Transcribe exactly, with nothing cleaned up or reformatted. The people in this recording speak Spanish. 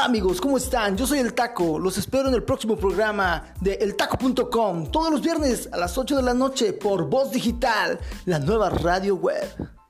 Hola amigos, ¿cómo están? Yo soy El Taco, los espero en el próximo programa de el taco punto com, todos los viernes a las ocho de la noche por Voz Digital, la nueva radio web.